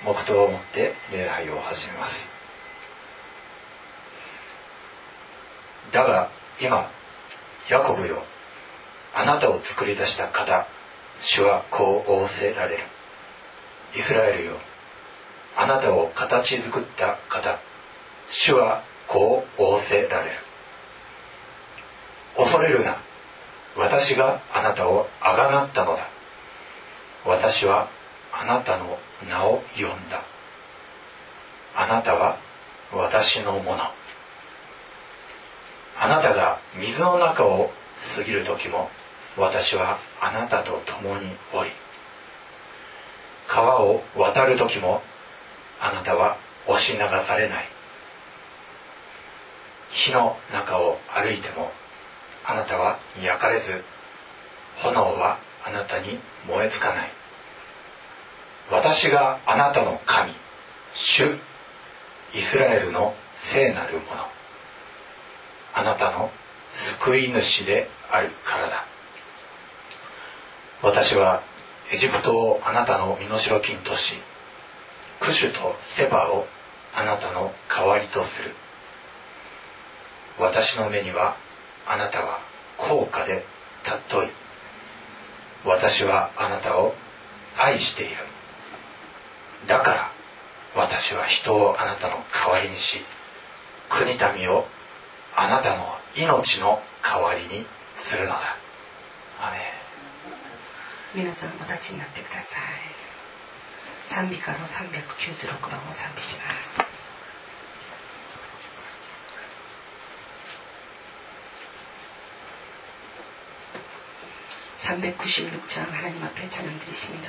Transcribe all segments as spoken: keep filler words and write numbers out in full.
黙祷をもって礼拝を始めます。だが今、ヤコブよ、あなたを作り出した方、主はこう仰せられる。イスラエルよ、あなたを形作った方、主はこう仰せられる。恐れるな、私があなたをあがなったのだ。私はあなたの名を呼んだ。あなたは私のもの。あなたが水の中を過ぎる時も、私はあなたと共におり、川を渡る時もあなたは押し流されない。火の中を歩いてもあなたは焼かれず、炎はあなたに燃えつかない。私があなたの神、主イスラエルの聖なるもの、あなたの救い主であるからだ。私はエジプトをあなたの身代金とし、クシュとセバをあなたの代わりとする。私の目にはあなたは高価で尊い。私はあなたを愛している。だから私は人をあなたの代わりにし、国民をあなたの命の代わりにするのだ。アメン。 皆さんお立ちになってください。賛美歌のさんびゃくきゅうじゅうろくばんを賛美します。삼백구십육 장 하나님 앞에 찬양 드리십니다.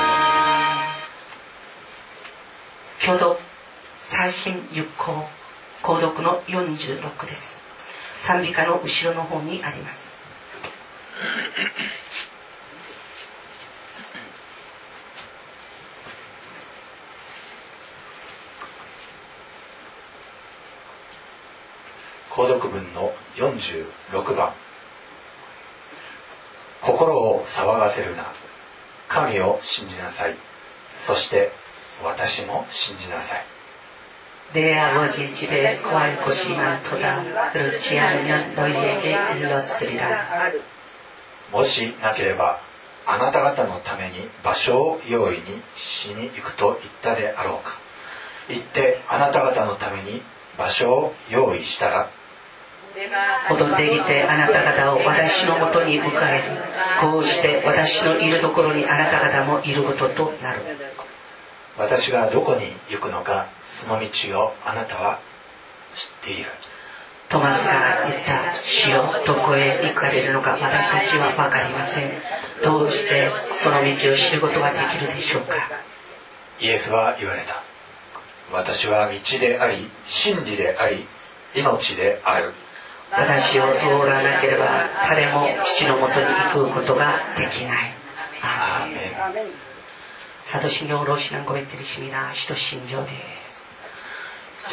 교독 사십육 호 購読のよんじゅうろくです。賛美歌の後ろの方にあります。 購読文のよんじゅうろくばん。心を騒がせるな。神を信じなさい。そして私も信じなさい。 내 아버지 집에 거할 곳이 많도다. 그렇지 않으면 너희에게 일렀으리라. もしなければあなた方のために場所を用意にしに行くと言ったであろうか。行ってあなた方のために場所を用意したら、 戻ってきてあなた方を私のもとに迎える。こうして私のいるところにあなた方もいることとなる。 私がどこに行くのか、その道をあなたは知っている。 トマスが言った。主よ、どこへ行かれるのか私たちは分かりません。どうしてその道を知ることができるでしょうか。 イエスは言われた。私は道であり、真理であり、命である。 私を通らなければ誰も父のもとに行くことができない。 アーメン。 사도신경 로시난 고백드리십니다. 시도신조です。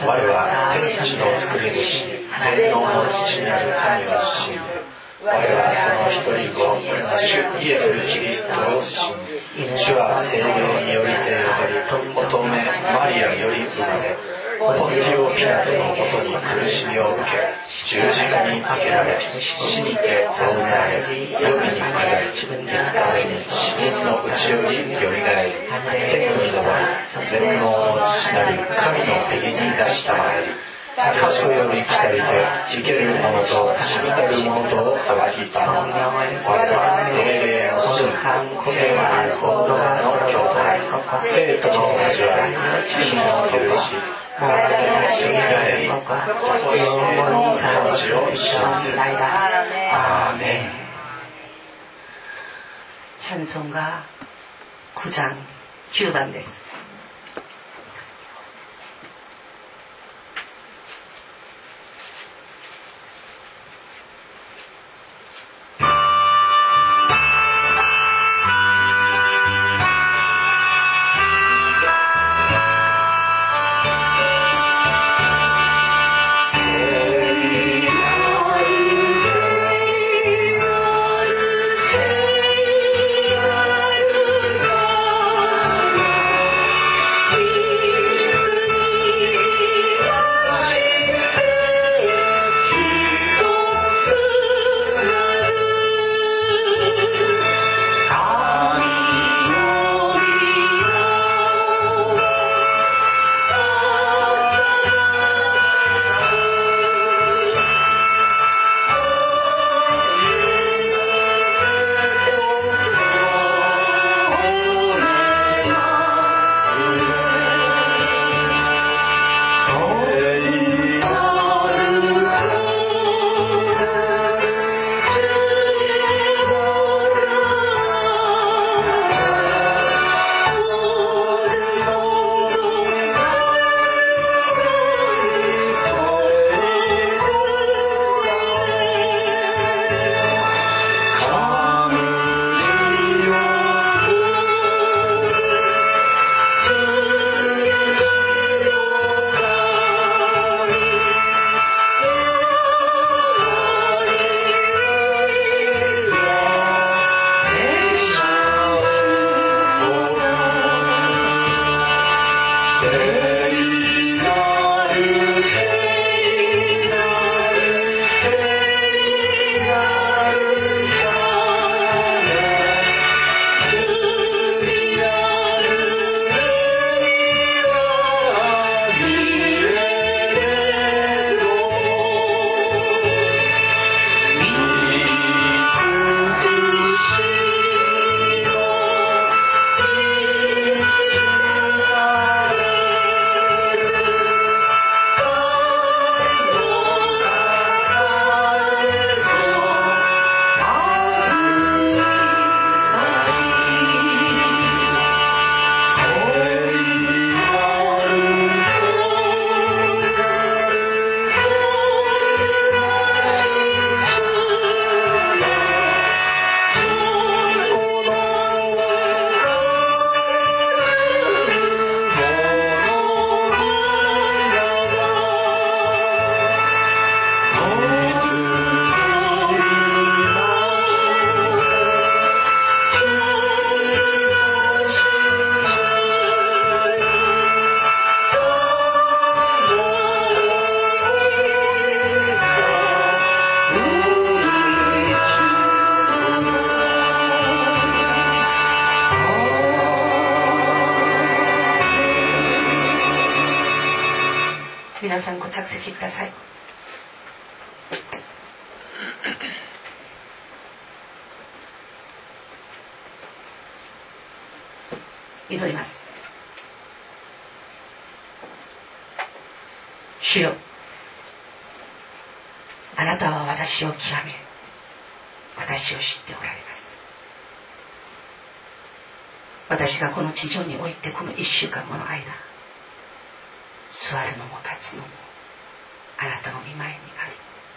我は天地の作り主、全能の父なる神を信ず。我はその一人子、主イエス・キリストを信ず。主は聖霊によりており、乙女マリアより生まれ、ポンティオ・ピラトのもとに苦しみを受け、十字架にかけられ、死にて葬られ、夜に下り、死人のうちよりよみがえり、天に昇り、全能の父なる神の右に座したまえり、賢より来たりて、生ける者と死にてる者とを裁きたま。我は聖霊の主、聖なる本当の教会、生徒の交わり、罪の許し、我々の死にがえり、ご永遠の命を信ず。アーメン。 찬송가 구 장きゅうばんです。 聖なる神皆さんご着席ください。祈ります。主よ、あなたは私を極め、私を知っておられます。私がこの地上においてこの一週間もの間、座るのも立つのもあなたの御前にあり、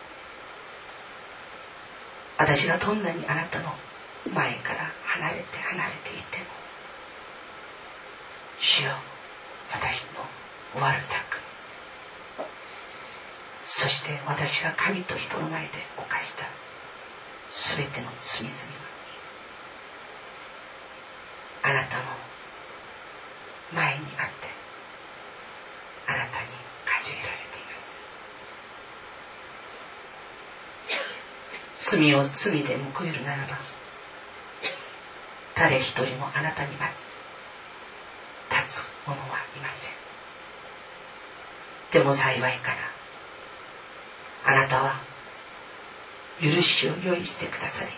私がどんなにあなたの前から離れて離れていても、主よ、私の悪巧み、そして私が神と人の前で犯したすべての罪々はあなたの前にあってあなたに数えられています。罪を罪で報えるならば、誰一人もあなたに待つ立つ者はいません。でも幸いかな、あなたは許しを用意してくださり、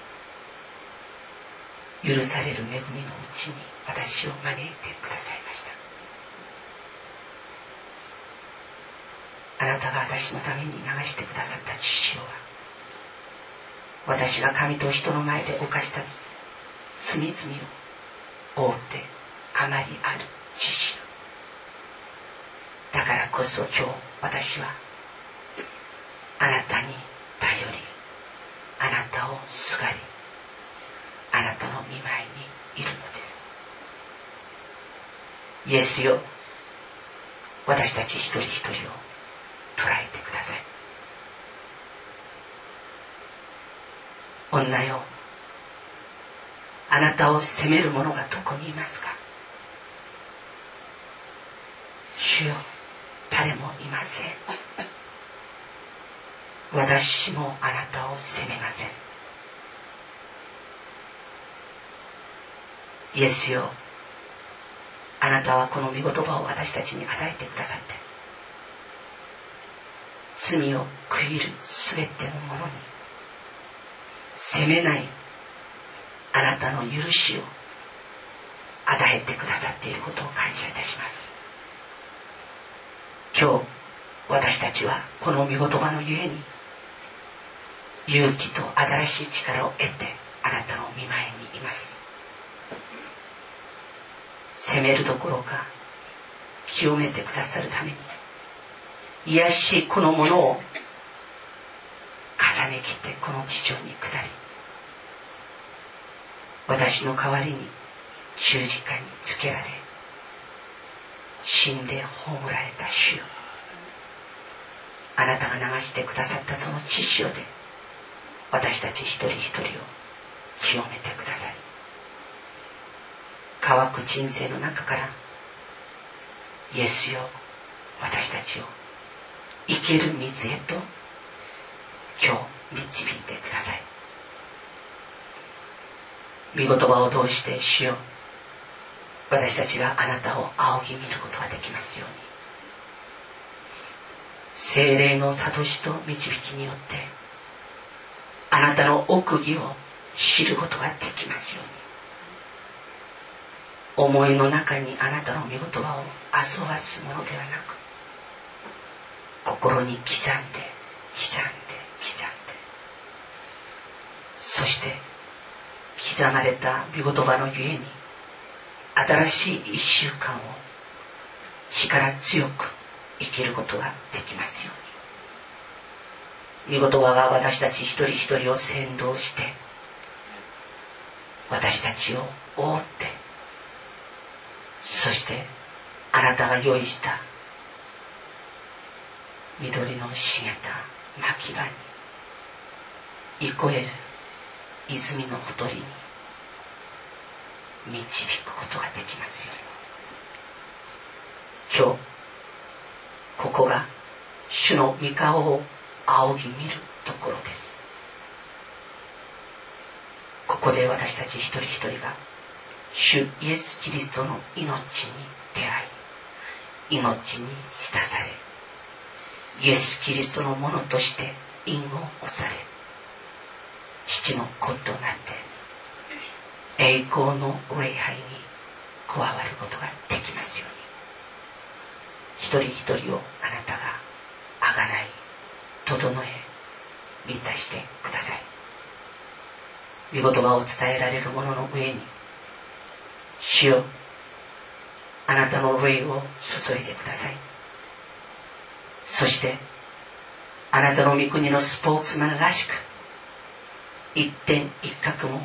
許される恵みのうちに私を招いてくださいました。あなたが私のために流してくださった血潮は、私が神と人の前で犯した罪々を覆ってあまりある血潮だからこそ、今日私はあなたに頼り、あなたをすがり、あなたの御前にいるのです。イエスよ、私たち一人一人を捉えてください。女よ、あなたを責める者がどこにいますか。主よ、誰もいません。私もあなたを責めません。イエスよ、あなたはこの御言葉を私たちに与えてくださって、罪を悔いるすべてのものに責めないあなたの許しを与えてくださっていることを感謝いたします。今日私たちはこの御言葉のゆえに勇気と新しい力を得てあなたの御前にいます。責めるどころか清めてくださるために、癒しこのものを重ね切ってこの地上に下り、私の代わりに十字架につけられ死んで葬られた主よ、あなたが流してくださったその血潮で私たち一人一人を清めてくださり、乾く人生の中からイエスよ、私たちを生ける水へと今日導いてください。御言葉を通して主よ、私たちがあなたを仰ぎ見ることができますように、聖霊の諭しと導きによってあなたの奥義を知ることができますように、思いの中にあなたの御言葉をあそわすものではなく、心に刻んで刻んで刻んで、そして刻まれた御言葉のゆえに新しい一週間を力強く生きることができますように、御言葉が私たち一人一人を先導して、私たちを覆って、そしてあなたが用意した緑の茂った牧場に、憩える泉のほとりに導くことができますように、今日ここが主の御顔を仰ぎ見るところです。ここで私たち一人一人が主イエス・キリストの命に出会い、命に浸され、 イエス・キリストのものとして印を押され、父の子となって栄光の礼拝に加わることができますように、一人一人をあなたがあがない、整え、満たしてください。御言葉を伝えられる者の上に、主よ、あなたの霊を注いでください。そしてあなたの御国のスポーツマンらしく、一点一角も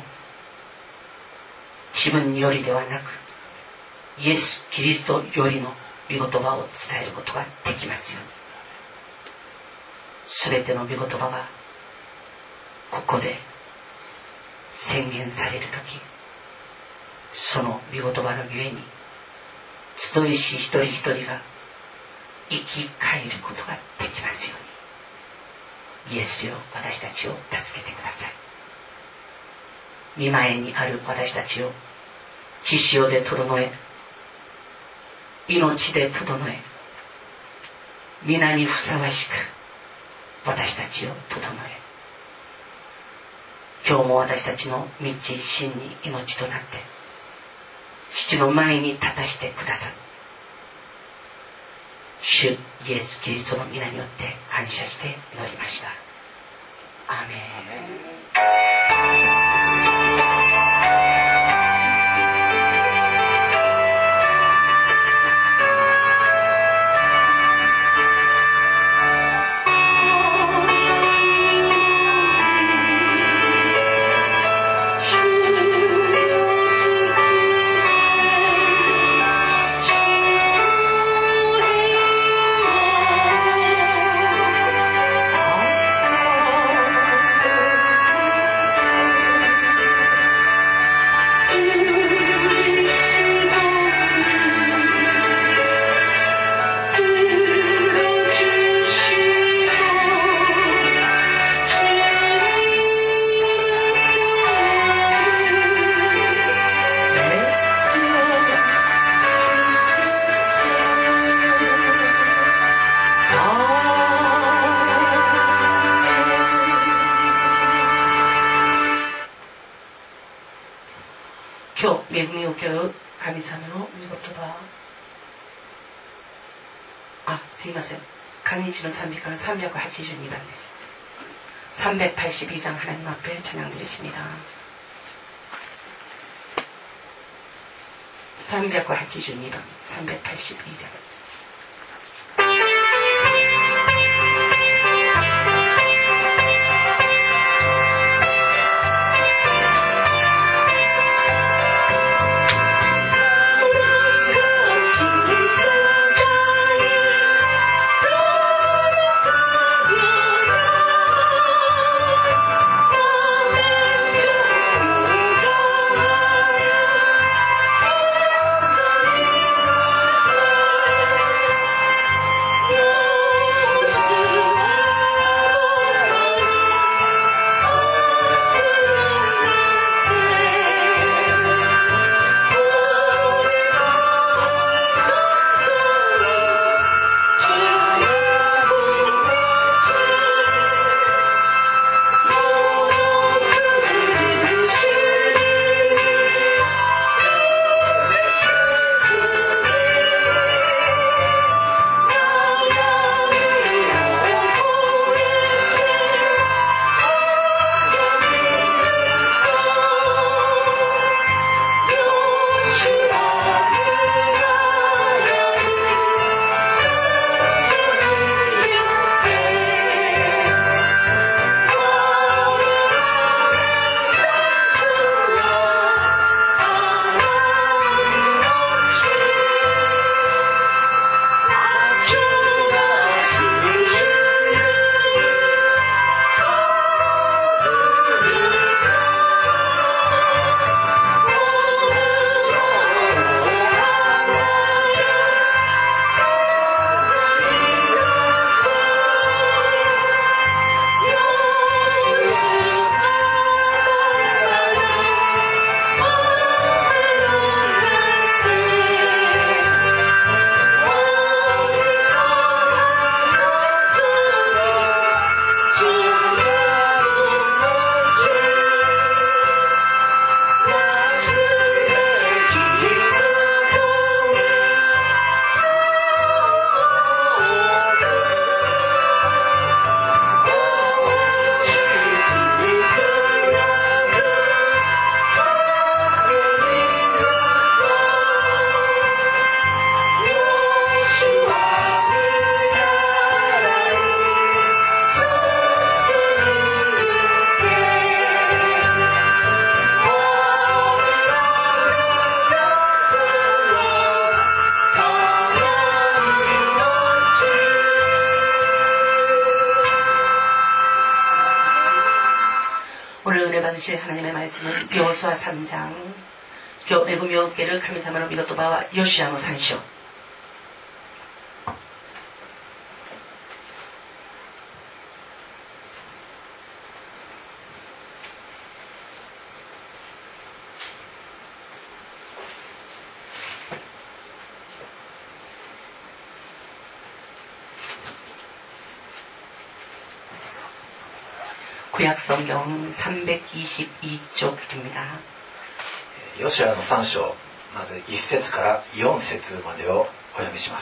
自分によりではなく、イエス・キリストよりの御言葉を伝えることができますように、すべての御言葉がここで宣言されるとき、その御言葉のゆえに集いし一人一人が生き返ることができますように、イエスよ、私たちを助けてください。御前にある私たちを血潮で整え、命で整え、皆にふさわしく私たちを整え、今日も私たちの道真に命となって父の前に立たしてくださる主イエス・キリストの皆によって感謝して祈りました。アーメン。今日恵みを受ける神様の御言葉、あ、すいません、韓日の賛美歌のさんびゃくはちじゅうにばんです。삼백팔십이 장 하나님 앞에 찬양 드리십니다. 삼백팔십이 번, 삼백팔십이 장. Oh 주실 하나님의 말씀은 여호수아 삼 장 매구 몇 개를 카미사마노 미고토바와 요시야노 산쇼. 구약성경 삼백이십이 쪽입니다. ヨシュアのさん章、まずいち節からよん節までをお読みします。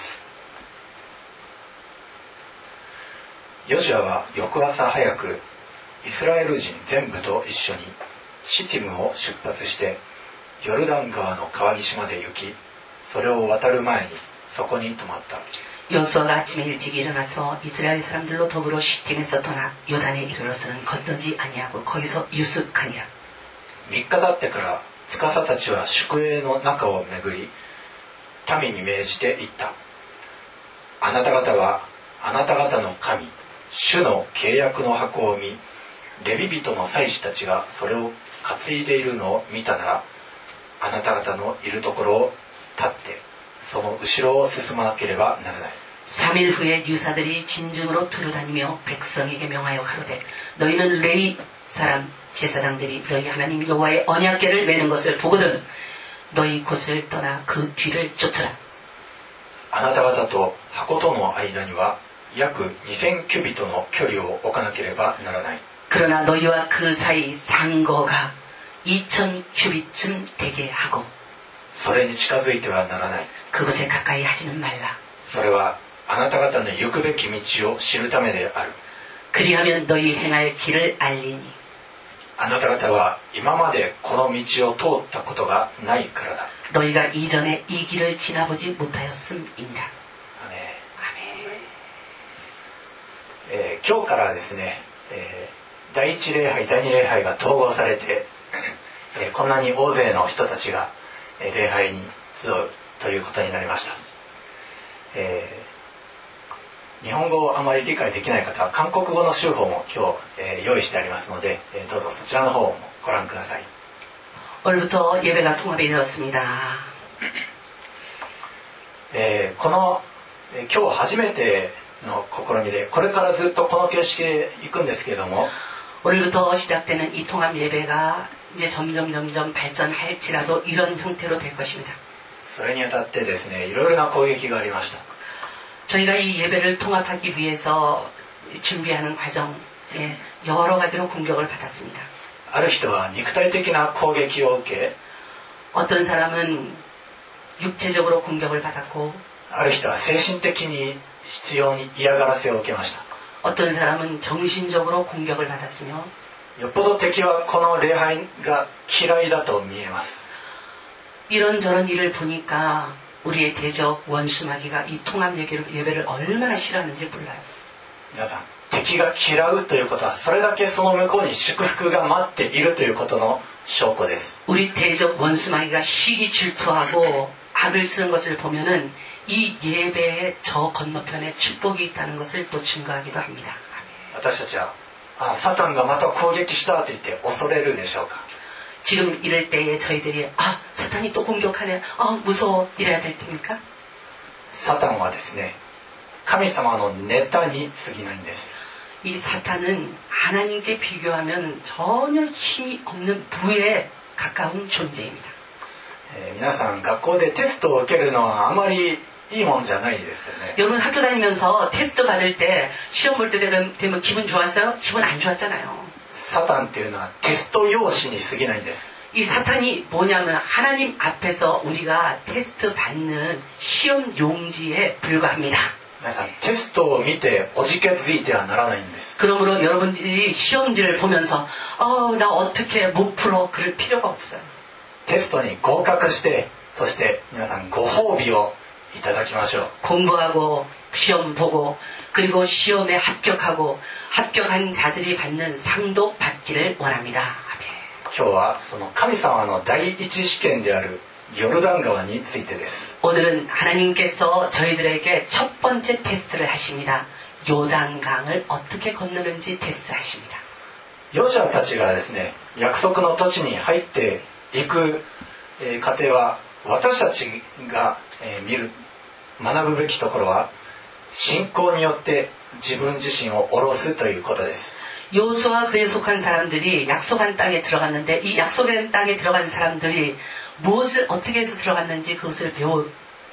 ヨシュアは翌朝早くイスラエル人全部と一緒にシティムを出発してヨルダン川の川岸まで行き、それを渡る前にそこに泊まった。 여호수아가 아침에 일찍 일어나서 이스라엘 사람들로 더불어 시팀에서 떠나 요단에 이르러서는 건너지 아니하고 거기서 유숙하니라. みっか経ってから司たちは宿営の中を巡り民に命じて言った。あなた方はあなた方の神主の契約の箱を見、レビ人の祭司たちがそれを担いでいるのを見たなら、あなた方のいるところを立ってその後ろを進まなければならない。 삼 일 후에 유사들이 진중으로 두루다니며 백성에게 명하여 가로되 너희는 레위 사람 제사장들이 너희 하나님 여호와의 언약궤를 메는 것을 보거든 너희 곳을 떠나 그 뒤를 쫓으라. あなた方と箱との間には約にせんキュビトの距離を置かなければならない。 그러나 너희와 그 사이 상거가 이천 큐빗쯤 되게 하고 それに近づいてはならない。 그곳에 가까이 하지는 말라. それはあなた方の行くべき道を知るためである。 그리하면 너희 행할 길을 알리니 あなた方は今までこの道を通ったことがないからだ。 너희가 이전에 이 길을 지나보지 못하였음이니라. アメン。 아멘. えー、今日からですね、えー、第一礼拝第二礼拝が統合されて、えー、こんなに大勢の人たちが、えー、礼拝に集うということになりました。えー日本語をあまり理解できない方は韓国語の修法も今日、えー、用意してありますので、えー、どうぞそちらの方もご覧ください。 오늘부터 예배가 통합이 되었습니다. えー、この、えー、今日初めての試みでこれからずっとこの形式で行くんですけれども 오늘부터 시작되는 이 통합 예배가 이제 점점 점점 발전할지라도 이런 형태로 될 것입니다. それにあたってですね、いろいろな攻撃がありました。 저희가 이 예배를 통합하기 위해서 준비하는 과정에 여러 가지로 공격을 받았습니다. ある人は肉体的な攻撃を受け 어떤 사람은 육체적으로 공격을 받았고 ある人は精神的に必要に嫌がらせを受けました。 어떤 사람은 정신적으로 공격을 받았으며 よっぽど敵はこの礼拝が嫌いだと見えます。 이런저런 일을 보니까 우리의 대적 원수 마귀가 이 통합 예배를 얼마나 싫어하는지 몰라요. 皆さん、敵が嫌うということはそれだけその向こうに祝福が待っているということの証拠です。 우리 대적 원수 마귀가 시기 질투하고 악을 쓰는 것을 보면은 이 예배의 저 건너편에 축복이 있다는 것을 또 증거하기도 합니다. 私たちはあサタンがまた攻撃したと言って恐れるでしょうか。 지금 이럴 때에 저희들이 아 사탄이 또 공격하네 아 무서워 이래야 될 테니까 サタンはですね、神様のネタに過ぎないんです。 이 사탄은 하나님께 비교하면 전혀 힘이 없는 부에 가까운 존재입니다. えー、皆さん学校でテストを受けるのはあまりいいもんじゃないですよね。 여러분 학교 다니면서 테스트 받을 때 시험 볼 때 되면 기분 좋았어요? 기분 안 좋았잖아요. サタンっていうのはテスト用紙に過ぎないんです。 이 사탄이 뭐냐면 하나님 앞에서 우리가 테스트 받는 시험 용지에 불과합니다. 皆さんテストを見ておじけづいてはならないんです。 그러므로 여러분들이 시험지를 보면서 어, 나 어떻게 못 풀어 그럴 필요가 없어요. テストに合格してそして皆さんご褒美をいただきましょう。 공부하고 시험 보고 그리고 시험에 합격하고 합격한 자들이 받는 상도 받기를 원합니다. 今日はその神様の第一試験であるヨルダン川についてです。 오늘은 하나님께서 저희들에게 첫 번째 테스트를 하십니다. 요단강을 어떻게 건너는지 테스트하십니다. ヨシュアたちがですね、約束の土地に入っていく過程は、私たちが見る学ぶべきところは、信仰によって自分自身を下ろすということです。 요수와 그에 속한 사람들이 약속한 땅에 들어갔는데, 이 약속한 땅에 들어간 사람들이 무엇을 어떻게 해서 들어갔는지 그것을 배워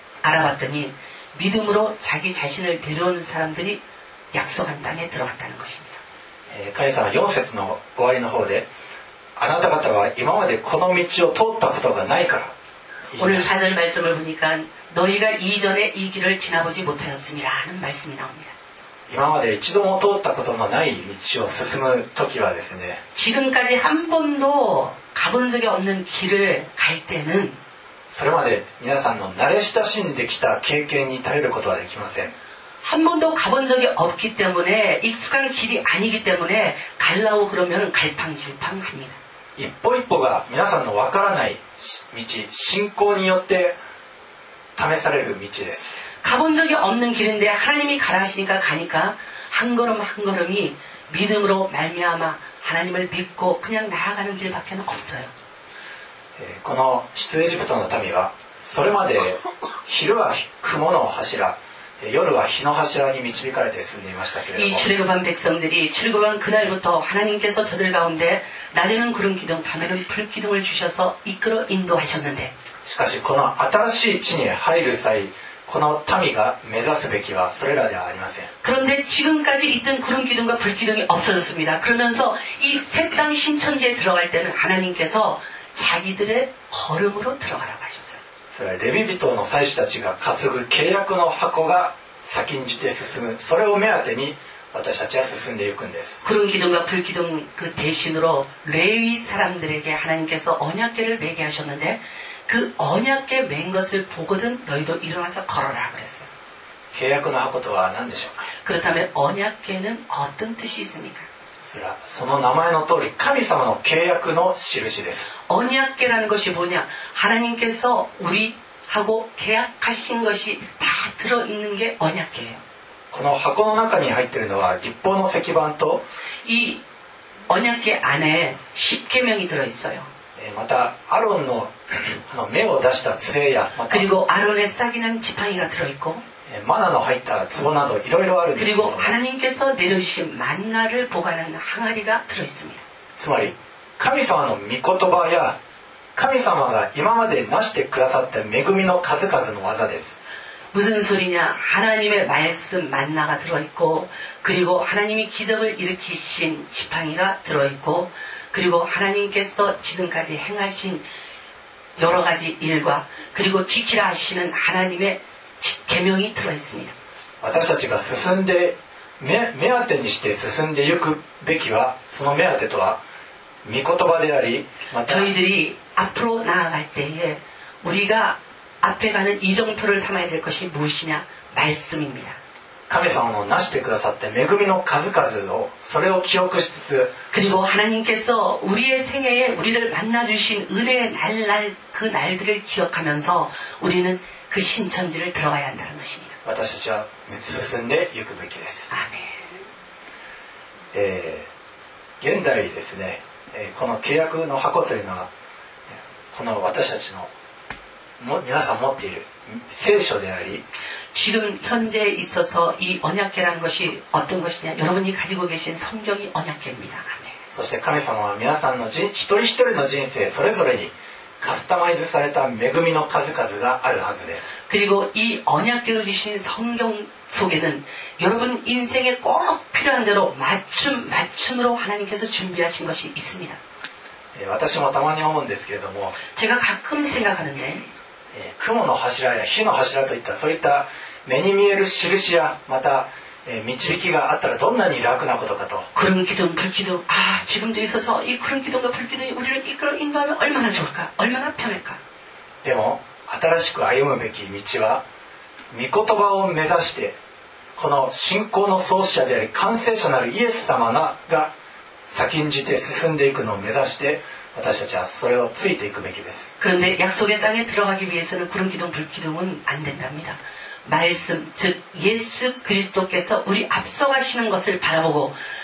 알아봤더니 믿음으로 자기 자신을 데려오는 사람들이 약속한 땅에 들어갔다는 것입니다. 神様はよん節の終わりの方で、あなた方は今までこの道を通ったことがないから。 오늘 사 절 말씀을 보니까 너희가 이전에 이 길을 지나보지 못하였음이라는 말씀이 나옵니다. 今まで一度も通ったことのない道を進む時はですね、 지금까지 한 번도 가본 적이 없는 길을 갈 때는 それまで皆さんの慣れ親しんできた経験に頼ることはできません。 한 번도 가본 적이 없기 때문에 익숙한 길이 아니기 때문에 갈라고 그러면 갈팡질팡합니다. 一歩一歩が皆さんのわからない道、信仰によって試される道です。 가본 적이 없는 길인데 하나님이 가라 하시니까 가니까 한 걸음 한 걸음이 믿음으로 말미암아 하나님을 믿고 그냥 나아가는 길밖에 없어요. この出エジプトの民はそれまで昼は雲の柱、夜は日の柱に導かれて進んでいましたけれども、 이 출애굽한 백성들이 출애굽한 그날부터 하나님께서 저들 가운데 낮에는 구름 기둥, 밤에는 불 기둥을 주셔서 이끌어 인도하셨는데, しかしこの新しい地に入る際、この民が目指すべきはそれらではありません。 그런데 지금까지 있던 구름 기둥과 불 기둥이 없어졌습니다. 그러면서 이 새 땅 신천지에 들어갈 때는 하나님께서 자기들의 걸음으로 들어가라고 하셨어요. それはレビ人の祭司たちが担ぐ契約の箱が先んじて進む、それを目当てに私たちは進んでいくんです。 구름 기둥과 불 기둥 그 대신으로 레위 사람들에게 하나님께서 언약궤를 매게 하셨는데, 그 언약궤 맨 것을 보거든 너희도 일어나서 걸어라 그랬어요. 契約の箱とは何でしょうか。 그렇다면 언약궤는 어떤 뜻이 있습니까? それはその名前の通り神様の契約の印です。 언약궤라는 것이 뭐냐? 하나님께서 우리하고 계약하신 것이 다 들어있는 게 언약궤예요. この箱の中に入っているのは律法の石板と、 이 언약궤 안에 십계명이 들어있어요. またアロンの芽を出した杖や、また 그리고 아론의 싹이 난 지팡이가 들어있고, マナの入った壺などいろいろあるんですけど、 그리고 하나님께서 내려주신 만나를 보관하는 항아리가 들어있습니다. つまり神様の御言葉や神様が今までなしてくださった恵みの数々の技です。 무슨 소리냐? 하나님의 말씀 만나가 들어있고, 그리고 하나님이 기적을 일으키신 지팡이가 들어있고, 그리고 하나님께서 지금까지 행하신 여러 가지 일과, 그리고 지키라 하시는 하나님의 계명이 들어있습니다. 私たちが進んで 目, 目当てにして進んでいくべきは、その目当てとは御言葉であり、また 저희들이 앞으로 나아갈 때에 우리가 앞에 가는 이정표를 삼아야 될 것이 무엇이냐? 말씀입니다. 神様のなしてくださった恵みの数々を、それを記憶しつつ、 그리고 하나님께서 우리의 생애에 우리를 만나주신 은혜의 날날 그 날들을 기억하면서 우리는 그 신천지를 들어가야 한다는 것입니다. 私たちは進んでいくべきです。 아멘. えー、現代ですね、えー、この契約の箱というのは、この私たちのも皆さん持っている聖書であり、 지금 현재에 있어서 이 언약궤라는 것이 어떤 것이냐? 여러분이 가지고 계신 성경이 언약궤입니다. 아멘. そして神様は皆さんの一人一人の人生それぞれにカスタマイズされた恵みの数々があるはずです。 그리고 이 언약궤로 주신 성경 속에는 여러분 인생에 꼭 필요한 대로 맞춤 맞춤으로 하나님께서 준비하신 것이 있습니다. 私もたまに思うんですけれども、 제가 가끔 생각하는데, 雲の柱や火の柱といったそういった目に見える印やまた導きがあったらどんなに楽なことかと。 구름 기둥, 불 기둥, 아 지금도 있어서 이 구름 기둥과 불 기둥이 우리를 이끌어 인도하면 얼마나 좋을까? 얼마나 편할까? でも新しく歩むべき道は御言葉を目指して、この信仰の創始者であり完成者なるイエス様が先んじて進んでいくのを目指して私たちはそれをついていくべきです。 그런데 약속의 땅에 들어가기 위해서는 구름 기둥, 불 기둥은 안 된답니다. 말씀, 즉 예수 그리스도께서 우리 앞서가시는 것을 바라보고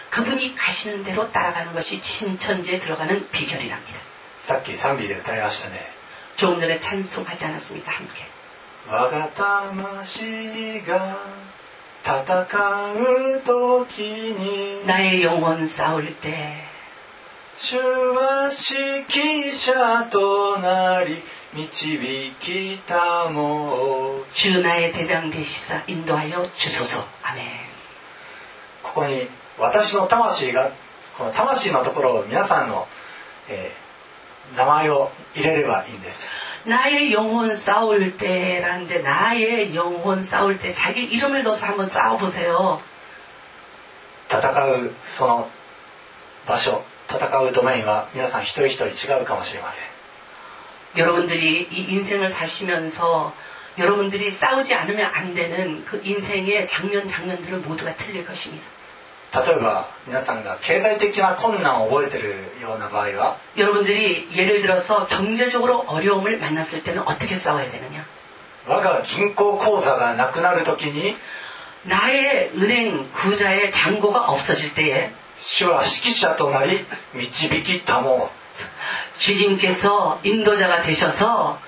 그분이 가시는 대로 따라가는 것이 신천지에 들어가는 비결이랍니다. さっき賛美で歌いましたね。 조금 전에 찬송하지 않았습니까? 함께. 我が魂が戦う時に 나의 영혼 싸울 때 主は指揮者となり導きたも 주 나의 대장 되시사 인도하여 주소서. 아멘. ここに私の魂がこの魂のところを皆さんの、えー、名前を入れればいいんです。 나의 영혼 싸울 때라는데 나의 영혼 싸울 때 자기 이름을 넣어서 한번 싸워보세요. 戦うその場所、戦うドメインは皆さん一人一人違うかもしれません。 여러분들이 이 인생을 사시면서 여러분들이 싸우지 않으면 안 되는 그 인생의 장면 장면들은 모두가 틀릴 것입니다. 例えば皆さんが経済的な困難を覚えているような場合は 여러분들이 예를 들어서 경제적으로 어려움을 만났을 때는 어떻게 싸워야 되느냐? 我が銀行口座がなくなるときに 나의 은행 구자의 잔고가 없어질 때에 主は指揮者となり導きたも 주님께서 인도자가 되셔서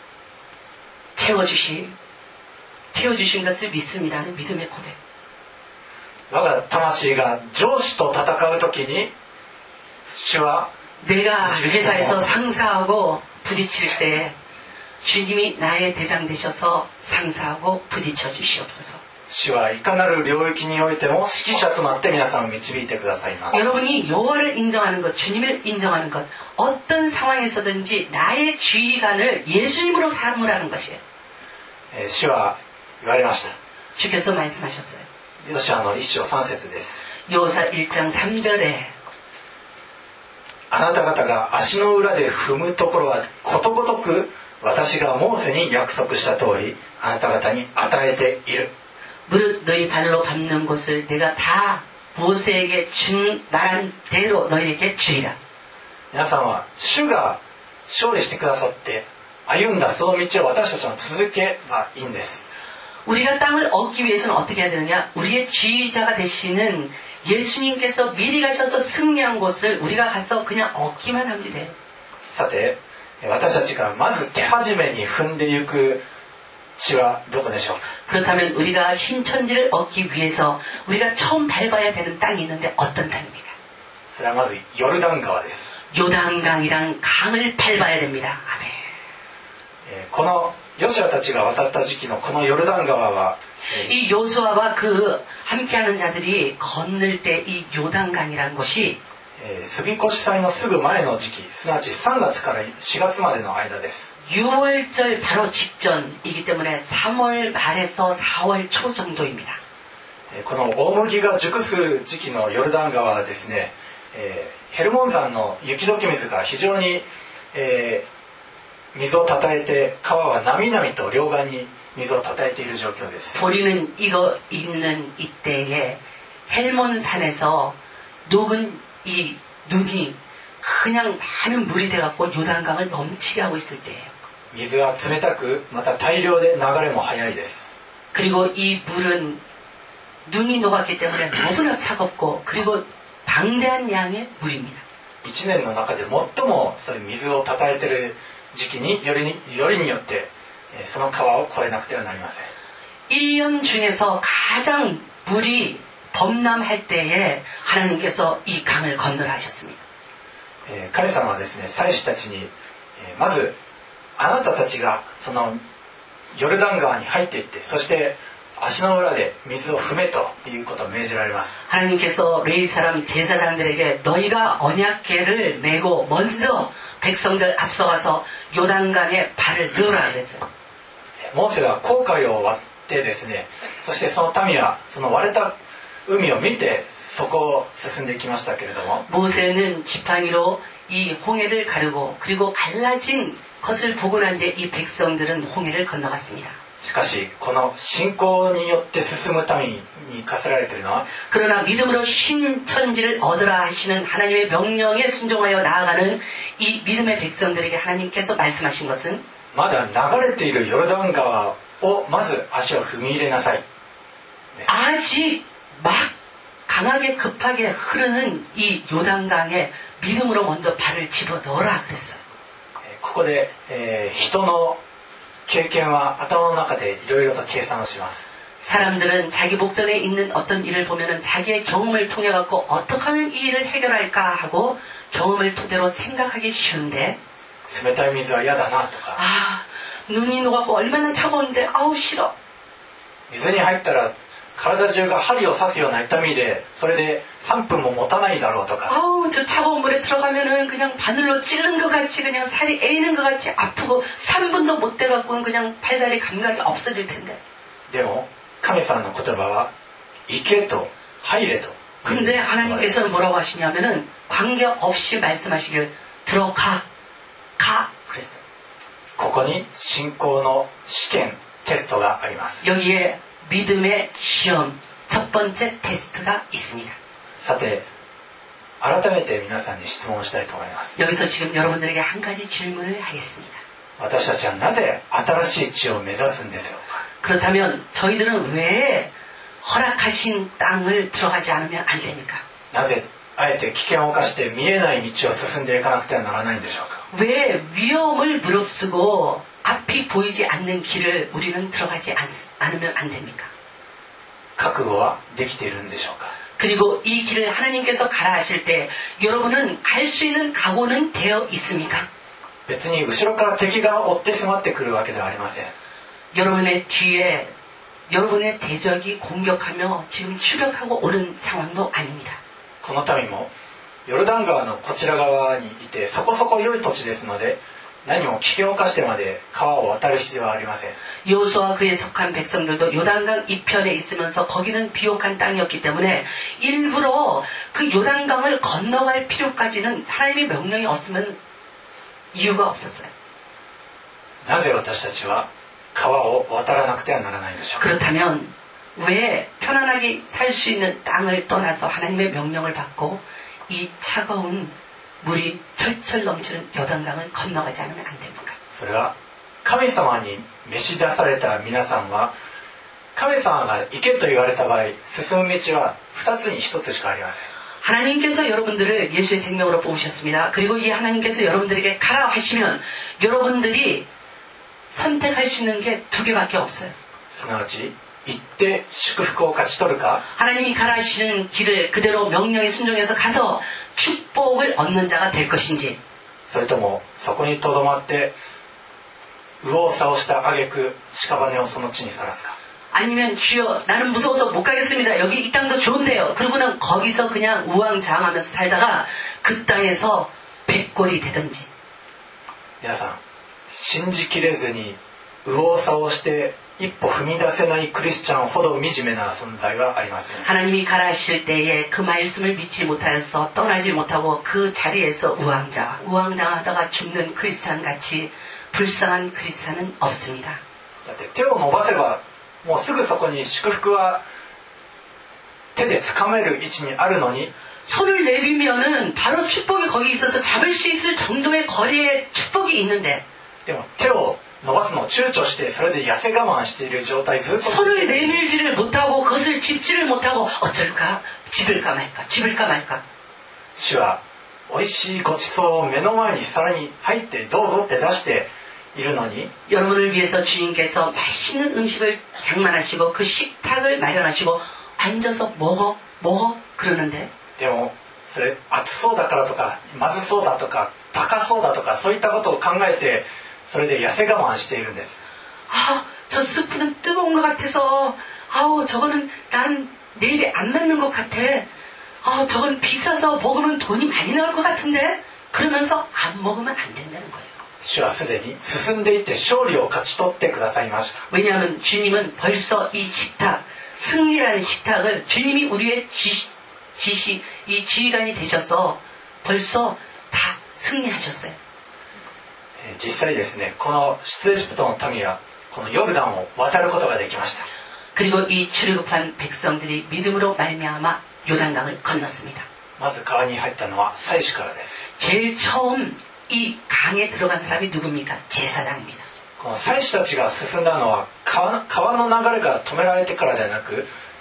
채워주시, 채워주신 것을 믿습니다는 믿음의 고백. 我が魂が上司と戦うときに主は 내가 회사에서 상사하고 부딪힐 때 주님이 나의 대장 되셔서 상사하고 부딪혀 주시옵소서. 主はいかなる領域においても指揮者となって皆さんを導いてくださいます。 여러분이 여호와를 인정하는 것, 주님을 인정하는 것, 어떤 상황에서든지 나의 지휘관을 예수님으로 삼으라는 것이에요. えー主は言われました。 주께서 말씀하셨어요. ヨシュアの一章三節です。 여호사 일 장 삼 절에 あなた方が足の裏で踏むところはことごとく私がモーセに約束した通りあなた方に与えている。 무릇 너희 발로 밟는 곳을 내가 다 모세에게 준 말한 대로 너희에게 주리라. 皆さんは主が勝利してくださって歩んだその道を私たちも続けばいいんです。 우리가 땅을 얻기 위해서는 어떻게 해야 되느냐? 우리의 지휘자가 되시는 예수님께서 미리 가셔서 승리한 곳을 우리가 가서 그냥 얻기만 하면 돼요. さて私たちがまず手始めに踏んでいく地はどこでしょうか。 그렇다면 우리가 신천지를 얻기 위해서 우리가 처음 밟아야 되는 땅이 있는데 어떤 땅입니까? それはまずヨルダン川です。 요단강이란 강을 밟아야 됩니다. 아멘. えーこのヨシュアたちが渡った時期のこのヨルダン川は、えー 이 요수아와 그 함께하는 자들이 건널 때 이 요단강이라는 것이 えー杉越祭のすぐ前の時期、すなわちさんがつからしがつまでの間です。 유월절 바로 직전이기 때문에 삼월 말에서 사월 초 정도입니다. えーこの大麦が熟する時期のヨルダン川はですね、えーヘルモン山の雪解け水が非常に、えー水をたたえて川はなみなみと両岸に水をたたえている状況です。 보리는 이거 있는 이때에 헬몬산에서 녹은 이 눈이 그냥 많은 물이 돼갖고 요단강을 넘치게 하고 있을 때예요. 水は冷たくまた大量で流れも速いです。 그리고 이 물은 눈이 녹았기 때문에 너무나 차갑고 그리고 방대한 양의 물입니다. 一年の中で最もそういう水をたたえている時期によりに、よりによってその川を越えなくてはなりません。 일 년 중에서 가장 물이 범람할 때에 하나님께서 이 강을 건너라 하셨습니다. えー神様はですね、祭司たちに、えーまずあなたたちがそのヨルダン川に入っていって、そして足の裏で水を踏めということを命じられます。 하나님께서 레위 사람 제사장들에게 너희가 언약궤를 메고 먼저 백성들 앞서가서 요단강에 발을 넣으라 그랬어요. モーセは紅海を割ってですね、そしてその民はその割れた海を見てそこを進んでいきましたけれども、 모세는 지팡이로 이 홍해를 가르고 그리고 갈라진 것을 보고 난 뒤에 이 백성들은 홍해를 건너갔습니다. しかしこの信仰によって進む民に課せられているのは 그러나 믿음으로 신천지를 얻으라 하시는 하나님의 명령에 순종하여 나아가는 이 믿음의 백성들에게 하나님께서 말씀하신 것은 まだ流れているヨルダン川をまず足を踏み入れなさい。 아직 막 강하게 급하게 흐르는 이 요단강에 믿음으로 먼저 발을 집어넣어라 그랬어요. ここで、えー、人の経験は頭の中でいろいろと計算をします。 사람들은 자기 목전에 있는 어떤 일을 보면은 자기의 경험을 통해 갖고 어떻게 하면 이 일을 해결할까 하고 경험을 토대로 생각하기 쉬운데 冷たい水は嫌だなとか 아 눈이 녹았고 얼마나 차가운데 아우 싫어 水に入ったら体中が針を刺すような痛みでそれでさんぷんも持たないだろうとか 아우 저 차가운 물에 들어가면은 그냥 바늘로 찌른 것 같이 그냥 살이 애이는 것 같이 아프고 삼 분도 못 돼갖고는 그냥 팔다리 감각이 없어질 텐데 でも神様の言葉は行けと入れと 근데 하나님께서는 뭐라고 하시냐면은 관계없이 말씀하시길 들어가 가 그랬어요. ここに信仰の試験テストがあります。 여기에 믿음의 시험 첫 번째 테스트가 있습니다. さて改めて皆さんに質問したいと思います。 여기서 지금 여러분들에게 한 가지 질문을 하겠습니다. 私たちはなぜ新しい地を目指すんでしょうか。 그렇다면 저희들은 왜 허락하신 땅을 들어가지 않으면 안 됩니까? なぜあえて危険を冒して見えない道を進んでいかなくてはならないんでしょうか。 왜 위험을 무릅쓰고 앞이 보이지 않는 길을 우리는 들어가지 않, 않으면 안 됩니까? 覚悟はできているんでしょうか。 그리고 이 길을 하나님께서 가라 하실 때 여러분은 갈 수 있는 각오는 되어 있습니까? 別に後ろから敵が追って迫ってくるわけではありません。 여러분의 뒤에 여러분의 대적이 공격하며 지금 추격하고 오는 상황도 아닙니다. この民もヨルダン川のこちら側にいてそこそこ良い土地ですので何も危険を冒してまで川を渡る必要はありません。 여호수아와 그에 속한 백성들도 요단강 이편에 있으면서 거기는 비옥한 땅이었기 때문에 일부러 그 요단강을 건너갈 필요까지는 하나님의 명령이 없으면 이유가 없었어요. なぜ私たちは川を渡らなくてはならないんでしょうか。 그렇다면 왜 편안하게 살 수 있는 땅을 떠나서 하나님의 명령을 받고 이 차가운 물이 철철 넘치는 요단강을 건너가지 않으면 안 됩니까? それは神様に召し出された皆さんは神様が行けと言われた場合進む道は二つに一つしかありません。 하나님께서 여러분들을 예수의 생명으로 뽑으셨습니다. 그리고 이 하나님께서 여러분들에게 가라 하시면 여러분들이 선택할 수 있는 게 두 개밖에 없어요. すなわち行って祝福を勝ち取るか 하나님이 가라 하시는 길을 그대로 명령에 순종해서 가서 축복을 얻는 자가 될 것인지 それともそこにとどまって右往左往した挙句屍をその地にさらすか 아니면 주여 나는 무서워서 못 가겠습니다. 여기 이 땅도 좋은데요. 그러고는 거기서 그냥 우왕좌왕하면서 살다가 그 땅에서 백골이 되든지 皆さん信じきれずに右往左往して一歩踏み出せないクリスチャンほど惨めな存在はありません。 하나님이 가라 하실 때에 그 말씀을 믿지 못하여서 떠나지 못하고 그 자리에서 우왕좌왕 우왕좌왕하다가 죽는 크리스찬 같이 불쌍한 크리스찬은 없습니다. だって手を伸ばせばもうすぐそこに祝福は手で掴める位置にあるのに 손을 내밀면은 바로 축복이 거기 있어서 잡을 수 있을 정도의 거리에 축복이 있는데 でも手を伸ばすのを躊躇してそれで痩せ我慢している状態ずっと 손을 내밀지를 못하고 그것을 짚지를 못하고 어쩔까 집을까 말까 집을까 말까 主は美味しいごちそうを目の前にさらに入ってどうぞって出しているのに 여러분을 위해서 주님께서 맛있는 음식을 장만하시고 그 식탁을 마련하시고 앉아서 먹어 먹어 그러는데 でもそれ熱そうだからとかまずそうだとか高そうだとかそういったことを考えてそれで痩せ我慢しているんです。 아, 저 스프는 뜨거운 것 같아서 아우 저거는 난 내 입에 안 맞는 것 같아. 아, 저건 비싸서 먹으면 돈이 많이 나올 것 같은데 그러면서 안 먹으면 안 된다는 거예요. 主はすでに進んでいって勝利を勝ち取ってくださいました。 왜냐하면 주님은 벌써 이 식탁 승리라는 식탁을 주님이 우리의 지시, 지시 이 지휘관이 되셔서 벌써 다 승리하셨어요. 実際ですねこの出エジプトの民はこのヨルダンを渡ることができました。 그리고 이 출애굽한 백성들이 믿음으로 말미암아 요단강을 건넜습니다. まず川に入ったのは祭司からです。 제일 처음 이 강에 들어간 사람이 누굽니까? 제사장입니다. この祭司たちが進んだのは 川, 川の流れが止められてからではなく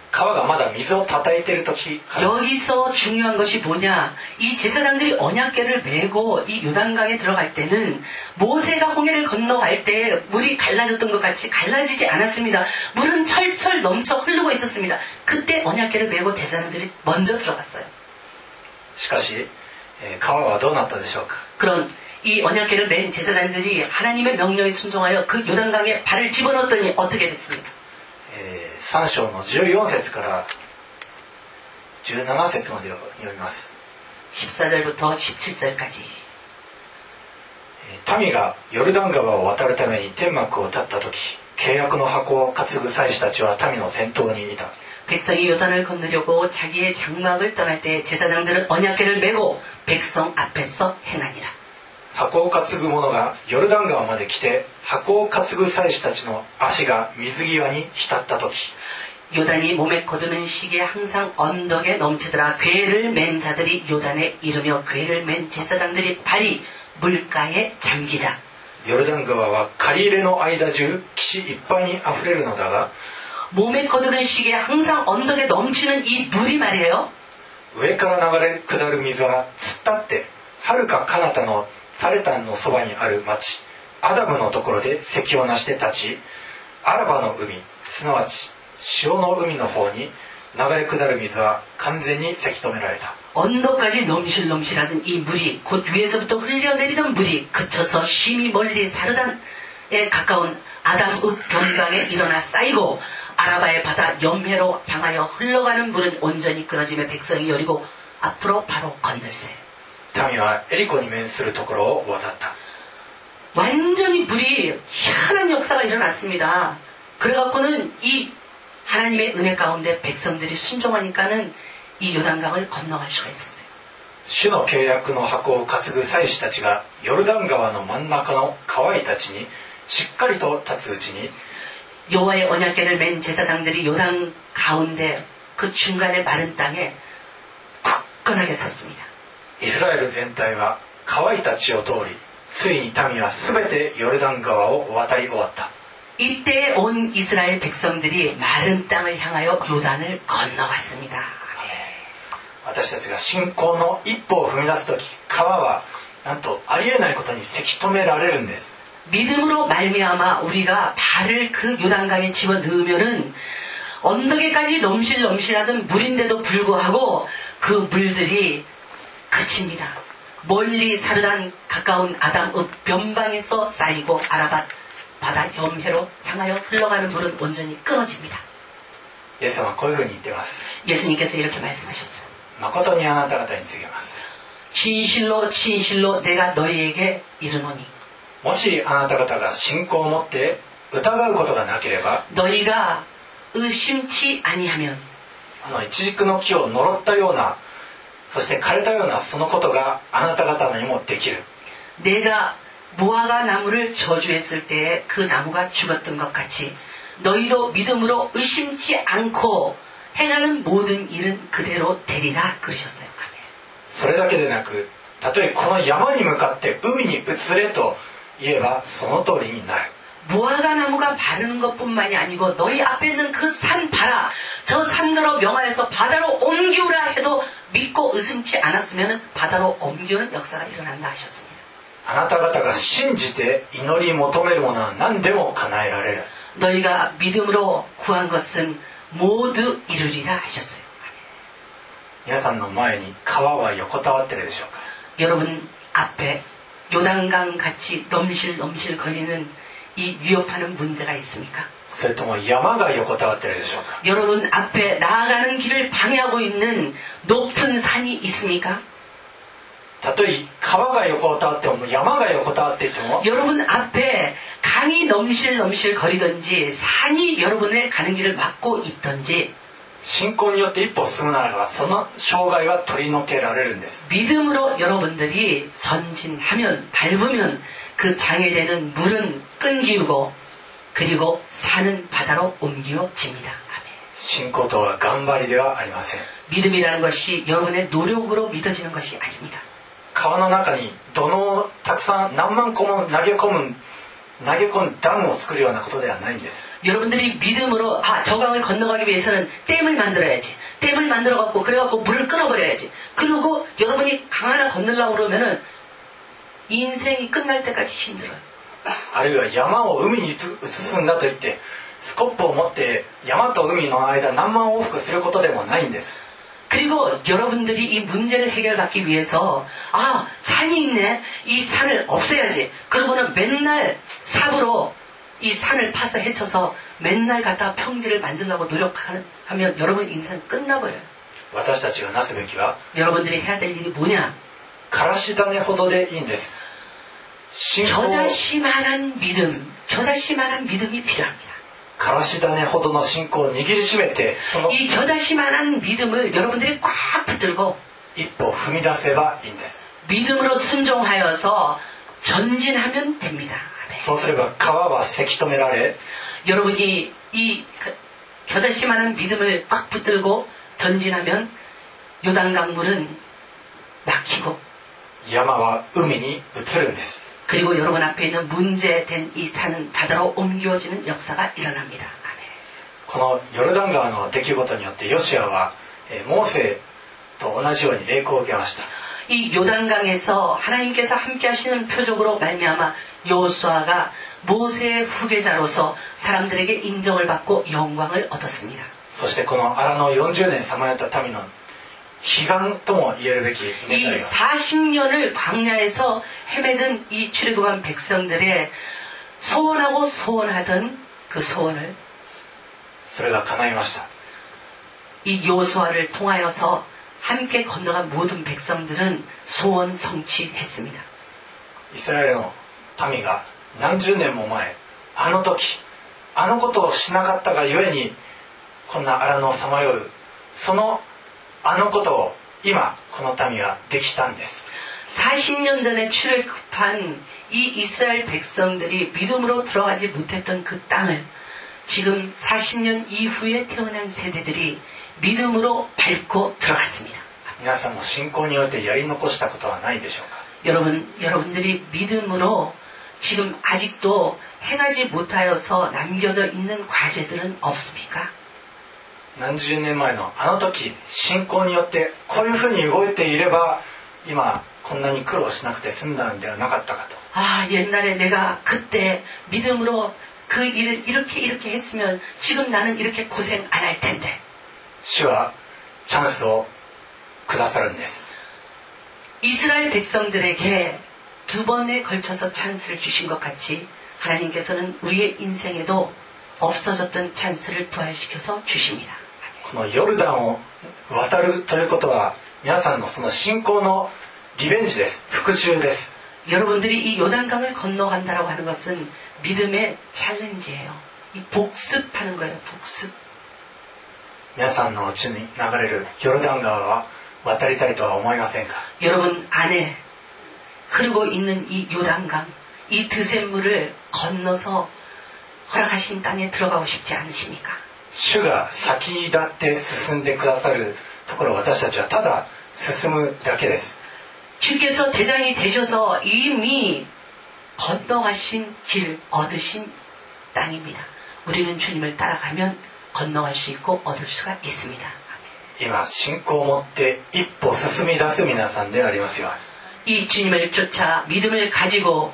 川がまだ水を叩いている時から 여기서 중요한 것이 뭐냐? 이 제사장들이 언약궤를 메고 이 요단강에 들어갈 때는 모세가 홍해를 건너갈 때 물이 갈라졌던 것 같이 갈라지지 않았습니다. 물은 철철 넘쳐 흐르고 있었습니다. 그때 언약궤를 메고 제사장들이 먼저 들어갔어요. しかし、えー川はどうなったでしょうか。 그런 이 언약궤를 맨 제사장들이 하나님의 명령에 순종하여 그 요단강에 발을 집어넣었더니 어떻게 됐습니까? えー、さん章のじゅうよん節からじゅうなな節までを読みます。 십사절부터 십칠절까지 えー民がヨルダン川を渡るために天幕を立った時、契約の箱を担ぐ祭司たちは民の先頭にいた。 백성이 요단을 건너려고 자기의 장막을 떠날 때 제사장들은 언약궤를 메고 백성 앞에서 행하니라. 箱を担ぐ者がヨルダン川まで来て、箱を担ぐ祭司たちの足が水際に浸った時、 요단이 몸에 거두는 시기에 항상 언덕에 넘치더라. 궤를 맨 자들이 요단에 이르며 궤를 맨 제사장들이 발이 물가에 잠기자. ヨルダン川は借り入れの間中岸いっぱいにあふれるのだが、 몸에 거두는 시기에 항상 언덕에 넘치는 이 물이 말이에요. 上から流れ下る水は突っ立って遥か彼方のサレタンのそばにある町アダムのところで席をなして立ち、アラバの海、すなわち潮の海の方に流れ下る水は完全にせき止められた。 언덕까지 넘실넘실하던 이 물이 곧 위에서부터 흘려내리던 물이 그쳐서 심히 멀리 사르단에 가까운 아담읍 변방에 일어나 쌓이고 아라바의 바다 염해로 향하여 흘러가는 물은 온전히 끊어지며 백성이 여리고 앞으로 바로 건널세. 民はエリコに面するところを渡った。 완전히 물이 희한한 역사가 일어났습니다. 그래갖고는 이 하나님의 은혜 가운데 백성들이 순종하니까는 이 요단강을 건너갈 수가 있었어요. 主の契約の箱を担ぐ祭司たちがヨルダン川の真ん中の川井たちにしっかりと立つうちに、 여호와의 언약궤를 맨 제사장들이 요단 가운데 그 중간의 마른 땅에 굳건하게 섰습니다. イスラエル全体は川井たちを通り、ついに民はすべてヨルダン川を渡り終わった。 이때 온 이스라엘 백성들이 마른 땅을 향하여 요단을 건너갔습니다. 私たちが信仰の一歩を踏み出すとき、川はなんとありえないことにせき止められるんです。 믿음으로 말미암아 우리가 발을 그 요단강에 집어넣으면은 언덕에까지 넘실넘실하던 물인데도 불구하고 그 물들이 그칩니다. 멀리 사르단 가까운 아담읍 변방에서 쌓이고 아라밧 바다 염해로 향하여 흘러가는 물은 온전히 끊어집니다. イエス様はこういうふうに言っています。 예수님께서 이렇게 말씀하셨어요. 誠にあなた方に告げます。 진실로 진실로 내가 너희에게 이르노니 もしあなた方が信仰を持って疑うことがなければ、 너희가 의심치 아니하면 あの一軸の木を呪ったような、そして枯れたようなそのことがあなた方にもできる。 내가 무화과 나무를 저주했을 때에 그 나무가 죽었던 것 같이 너희도 믿음으로 의심치 않고 행하는 모든 일은 그대로 되리라 그러셨어요. 아멘. それだけでなく、たとえこの山に向かって海に移れと言えばその通りになる。 무화과 나무가 바르는 것뿐만이 아니고 너희 앞에 있는 그 산 봐라. 저 산으로 명하여서 바다로 옮기우라 해도 믿고 의심치 않았으면 바다로 옮기우는 역사가 일어난다 하셨습니다. あなた方が信じて祈り求めるものは何でも叶えられる。 너희가 믿음으로 구한 것은 모두 이루리라 하셨어요. 皆さんの前に川は横たわってるでしょうか。 여러분 앞에 요단강 같이 넘실넘실 거리는 이 위협하는 문제가 있습니까? それとも山が横たわってるでしょうか。 여러분 앞에 나아가는 길을 방해하고 있는 높은 산이 있습니까? たとえ川が横たわっても山が横たわっていても、 여러분 앞에 강이 넘실넘실 거리든지 산이 여러분의 가는 길을 막고 있든지 信仰によって一歩進むならばその障害は取り除けられるんです。 믿음으로 여러분들이 전진하면 밟으면 그 장애되는 물은 끊기고 그리고 산은 바다로 옮겨집니다. 아멘. 信仰とは頑張りではありません。 믿음이라는 것이 여러분의 노력으로 믿어지는 것이 아닙니다. 川の中に土のをたくさん何万個も投げ込む投げ込んダムを作るようなことではないんです。 여러분들이 믿음으로 아, 저 강을 건너가기 위해서는 댐을 만들어야지. 댐을 만들어갖고 그래갖고 물을 끊어버려야지. 그리고 여러분이 강 하나 건너려고 그러면은 인생이 끝날 때까지 힘들어요. あるいは山を海に移すんだと言ってスコップを持って山と海の間何万往復することでもないんです。 그리고 여러분들이 이 문제를 해결받기 위해서 아 산이 있네 이 산을 없애야지 그러고는 맨날 삽으로 이 산을 파서 헤쳐서 맨날 갖다가 평지를 만들려고 노력하면 여러분 인생 끝나버려요. 私たちがなすべきは 여러분들이 해야 될 일이 뭐냐? からし種ほどでいいんです。 겨자씨만한 믿음, 겨자씨만한 믿음이 필요합니다. からし種ほどの信仰を握りしめてその 이 겨자씨만한 믿음을 여러분들이 꽉 붙들고 一歩踏み出せばいいんです。 믿음으로 순종하여서 전진하면 됩니다. そうすれば川はせき止められ 여러분이 이 겨자씨만한 믿음을 꽉 붙들고 전진하면 요단강물은 막히고 山は海に移るんです。 그리고 여러분 앞에 있는 문제된 이 산은 바다로 옮겨지는 역사가 일어납니다. このヨルダン川の出来事によってヨシュアはモーセと同じように栄光を受けました。 이 요단강에서 하나님께서 함께 하시는 표적으로 말미암아 여호수아가 모세의 후계자로서 사람들에게 인정을 받고 영광을 얻었습니다. そしてこの荒野よんじゅうねんさまよった民の悲願とも言えるべき願い 이 が 사십 년을 광야에서 헤매던 이 출애굽한 백성들의 소원하고 소원하던 그 소원을 それが叶いました。 이 여호수아를 통하여서 함께 건너간 모든 백성들은 소원 성취했습니다. イスラエルの民が何十年も前あの時あのことをしなかったがゆえにこんな荒野をさまようそのあのことを今この民はできたんです。 사십 년 전에 출애굽한 이 이스라엘 백성들이 믿음으로 들어가지 못했던 그 땅을 지금 사십 년 이후에 태어난 세대들이 믿음으로 밟고 들어갔습니다. 皆さんも信仰においてやり残したことはないでしょうか。 여러분, 여러분들이 믿음으로 지금 아직도 행하지 못하여서 남겨져 있는 과제들은 없습니까? 何十年前のあの時信仰によってこういうふうに動いていれば今こんなに苦労しなくて済んだんではなかったかと。 아, 옛날에 내가 그때 믿음으로 그 일을 이렇게 이렇게 했으면 지금 나는 이렇게 고생 안 할 텐데. 主はチャンスをくださるんです。 이스라엘 백성들에게 두 번에 걸쳐서 찬스를 주신 것 같이 하나님께서는 우리의 인생에도 없어졌던 찬스를 부활시켜서 주십니다. このヨルダンを渡るということは皆さんのその信仰のリベンジです。復讐です。 여러분들이 이 요단강을 건너간다라고 하는 것은 믿음의 챌린지예요. 이 복습하는 거예요. 복습. 皆さんのうちに流れるヨルダン川は渡りたいとは思いませんか。 여러분 안에 흐르고 있는 이 요단강, 이 드센물을 건너서 허락하신 땅에 들어가고 싶지 않으십니까? 主が先立って進んでくださるところ私たちはただ進むだけです。 주께서 대장이 되셔서 이미 건너가신 길 얻으신 땅입니다. 우리는 주님을 따라가면 건너갈 수 있고 얻을 수가 있습니다. 今信仰を持って一歩進み出す皆さんでありますよ。 이 주님을 쫓아 믿음을 가지고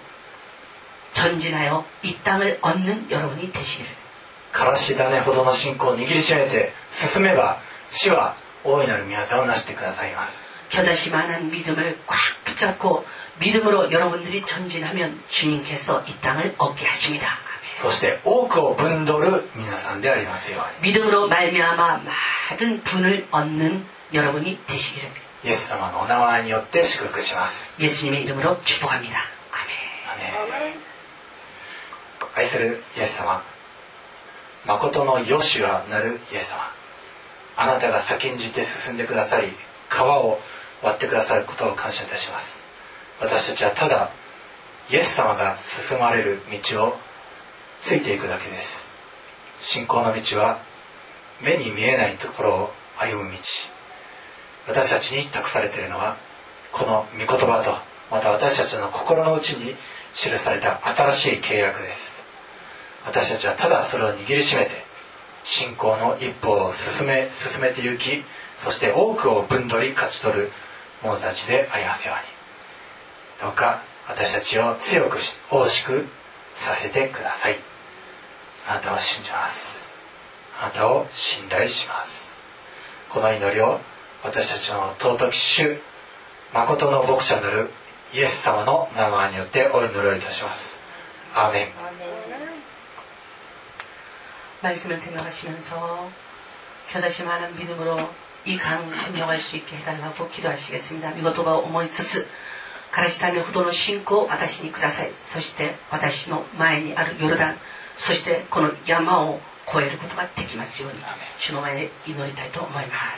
전진하여 이 땅을 얻는 여러분이 되시기를. からし種ほどの信仰を握りしめて進めば主は大いなる御業をなしてくださいます。 겨자씨만한 믿음을 꽉 붙잡고 믿음으로 여러분들이 전진하면 주님께서 이 땅을 얻게 하십니다. そして多くを分取る皆さんでありますように。 믿음으로 말미암아 많은 분을 얻는 여러분이 되시기를. イエス様のお名前によって祝福します。 예수님의 이름으로 축복합니다. 아멘. アメン。愛するイエス様、誠のヨシュアなるイエス様、あなたが先んじて進んでくださり川を割ってくださることを感謝いたします。私たちはただイエス様が進まれる道をついていくだけです。信仰の道は目に見えないところを歩む道。私たちに託されているのはこの御言葉とまた私たちの心の内に記された新しい契約です。私たちはただそれを握りしめて信仰の一歩を進め進めて行き、そして多くを分取り勝ち取る者たちでありますように、どうか私たちを強く大しくさせてください。あなたを信じます。あなたを信頼します。この祈りを私たちの尊き主、誠の牧者なるイエス様の名前によってお祈りをいたします。アーメン。 말씀을 생각하시면서 겨다시 많은 믿음으로 이 강 건너갈 수 있게 해달라고 기도하시겠습니다. 미고토바 오모이츠스 가라시타네 후도의 신고私にください。そして私の前にあるヨルダン、そしてこの山を越えることができますように、主の前で祈りたいと思います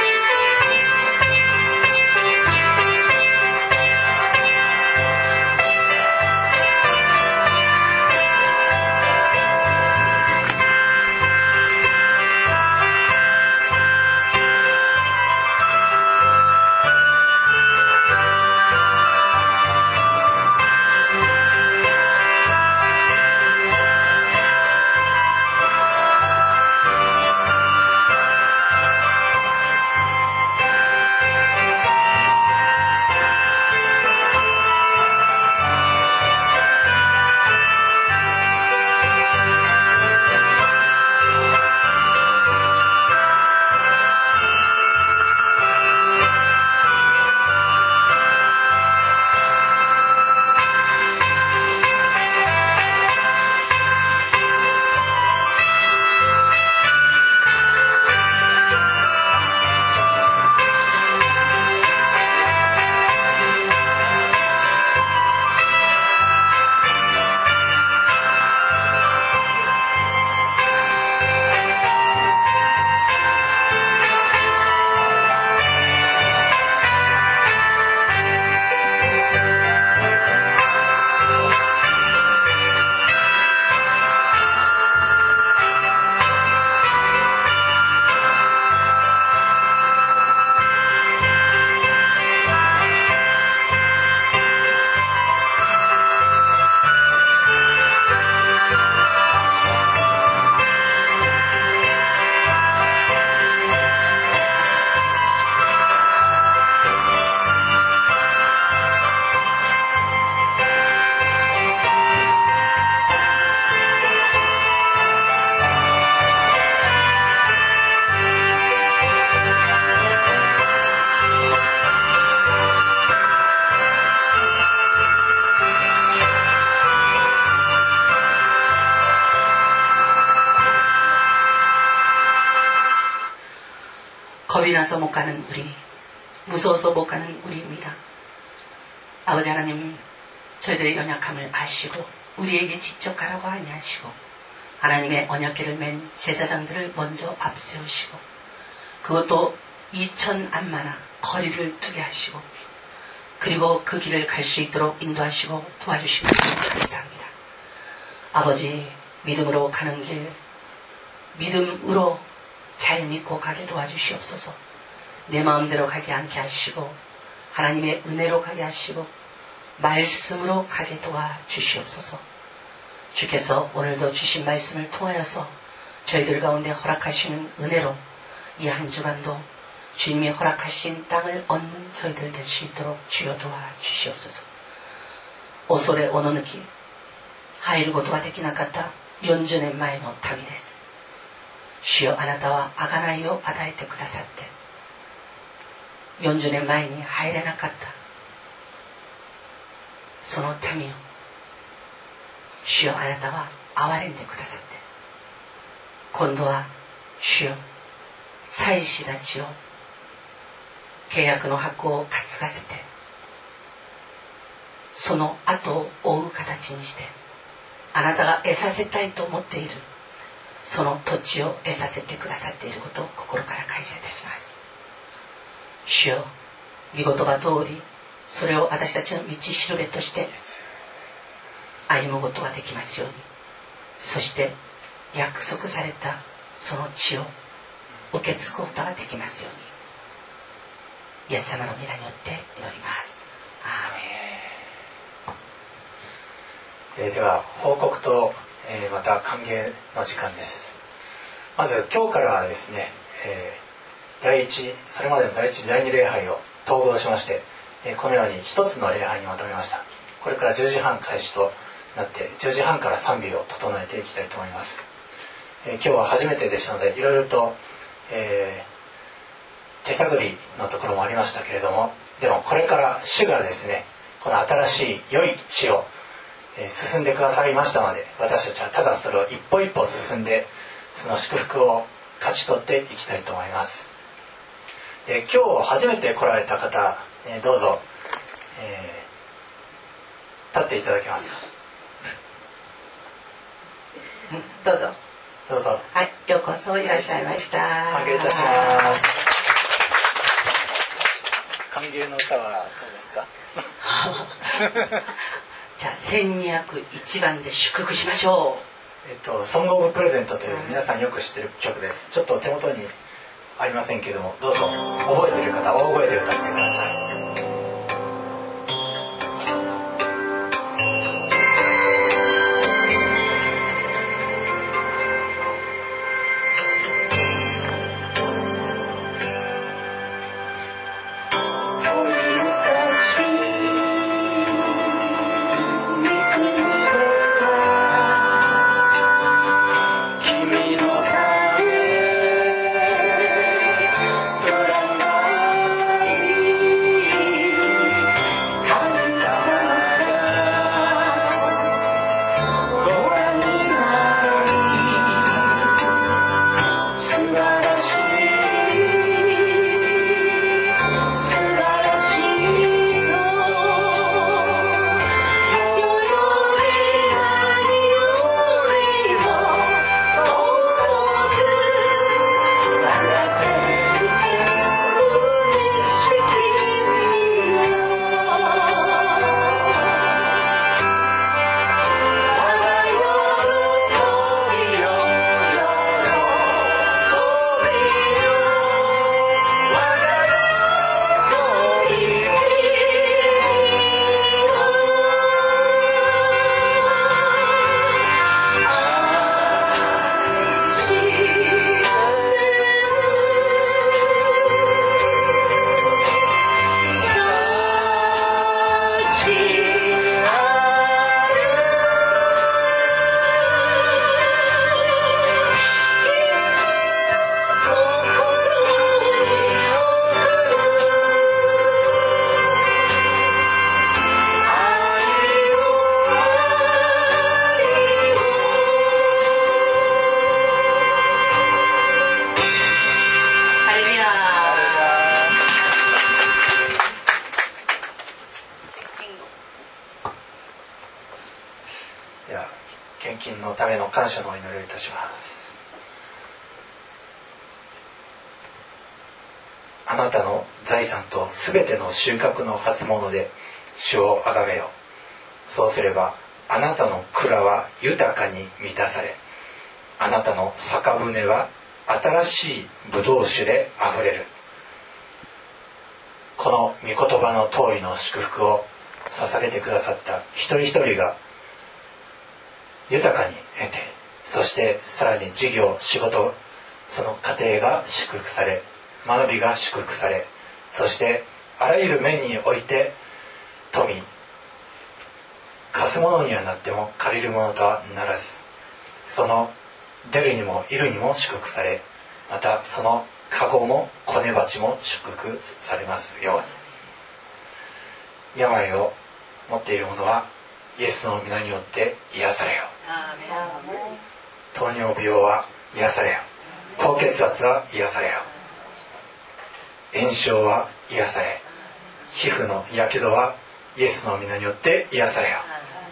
。겁이 나서 못 가는 우리, 무서워서 못 가는 우리입니다. 아버지 하나님, 저희들의 연약함을 아시고 우리에게 직접 가라고 아니하시고 하나님의 언약궤를 맨 제사장들을 먼저 앞세우시고 그것도 이천 암마나 거리를 두게 하시고 그리고 그 길을 갈 수 있도록 인도하시고 도와주시고 감사합니다. 아버지, 믿음으로 가는 길, 믿음으로 잘 믿고 가게 도와주시옵소서. 내 마음대로 가지 않게 하시고 하나님의 은혜로 가게 하시고 말씀으로 가게 도와주시옵소서. 주께서 오늘도 주신 말씀을 통하여서 저희들 가운데 허락하시는 은혜로 이 한 주간도 주님이 허락하신 땅을 얻는 저희들 될 수 있도록 주여 도와주시옵소서. 오소레 오노느키入ることができなかったよんじゅうねんまえの民です。主よ、あなたは贖いを与えてくださってよんじゅうねんまえに入れなかったその民を主よ、あなたは憐れんでくださって今度は主よ、祭司たちを契約の箱を担がせてその後を追う形にしてあなたが得させたいと思っているその土地を得させてくださっていることを心から感謝いたします。主よ、御言葉通りそれを私たちの道しるべとして歩むことができますように、そして約束されたその地を受け継ぐことができますように、イエス様の皆によって祈ります。アーメン。 えー、では報告と、えー、また歓迎の時間です。まず今日からはですね、えー、第一それまでの第一第二礼拝を統合しまして、えー、このように一つの礼拝にまとめました。これからじゅうじはん開始となってじゅうじはんから賛美を整えていきたいと思います。えー、今日は初めてでしたのでいろいろと、えー、手探りのところもありましたけれども、でもこれから主がですね、この新しい良い地を進んでくださいましたので、私たちはただそれを一歩一歩進んでその祝福を勝ち取っていきたいと思います。で、今日初めて来られた方、えー、どうぞ、えー、立っていただけますか。 どうぞどうぞ。 はい、ようこそいらっしゃいました。 歓迎いたします。歓迎の歌はどうですか。 じゃあせんにひゃくいちばんで祝福しましょう。えっとソングオブプレゼントという皆さんよく知ってる曲です。ちょっと手元にありませんけれども、どうぞ覚えている方大声で歌ってください。感謝のお祈りをいたします。あなたの財産とすべての収穫の初物で主をあがめよ。そうすればあなたの蔵は豊かに満たされ、あなたの酒舟は新しいブドウ酒であふれる。この御言葉の通りの祝福を捧げてくださった一人一人が豊かに得て、そしてさらに事業、仕事、その家庭が祝福され、学びが祝福され、そしてあらゆる面において富、貸すものにはなっても借りるものとはならず、その出るにもいるにも祝福され、またその籠も子根鉢も祝福されますように。病を持っている者はイエスの皆によって癒されよ。糖尿病は癒されよ。高血圧は癒されよ。炎症は癒され、皮膚のやけどはイエスの皆によって癒されよ。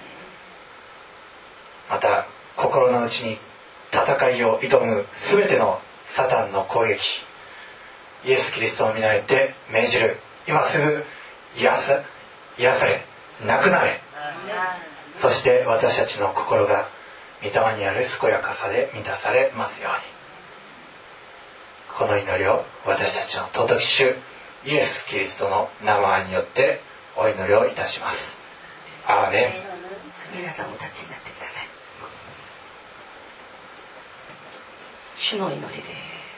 また心の内に戦いを挑むすべてのサタンの攻撃、イエス・キリストの皆によって命じる。今すぐ癒さ、癒され、なくなれ。そして私たちの心が御霊にある健やかさで満たされますように。この祈りを私たちの尊き主イエス・キリストの名前によってお祈りをいたします。アーメン。 皆さんお立ちになってください。主の祈りです。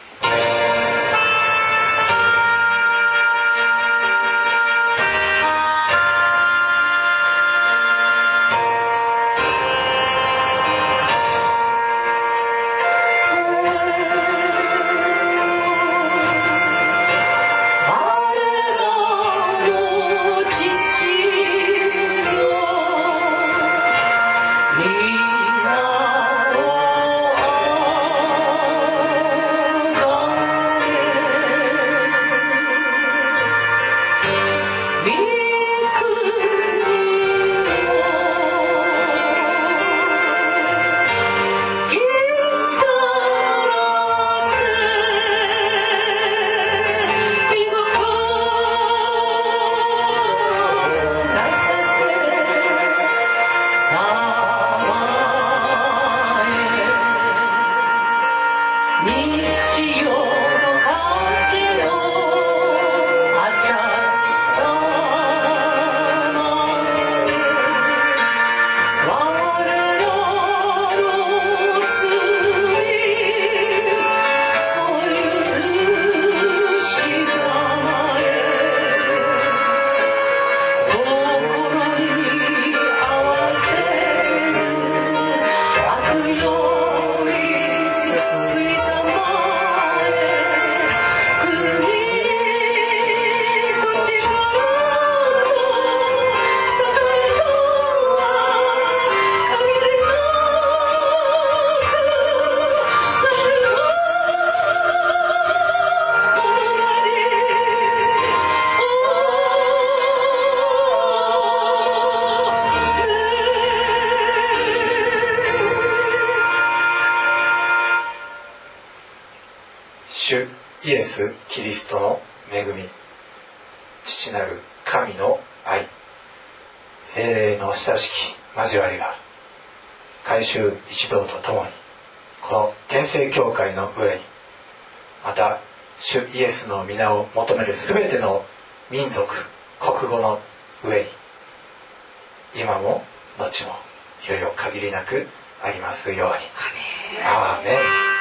主イエス・キリストの恵み、父なる神の愛、聖霊の親しき交わりが改宗一同とともにこの天聖教会の上に、また主イエスの皆を求めるすべての民族国語の上に今も後もいよいよ限りなくありますように。アーメン。